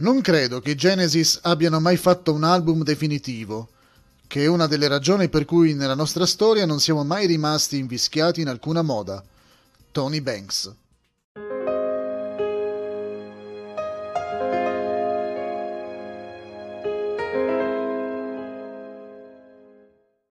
Non credo che i Genesis abbiano mai fatto un album definitivo, che è una delle ragioni per cui nella nostra storia non siamo mai rimasti invischiati in alcuna moda. Tony Banks.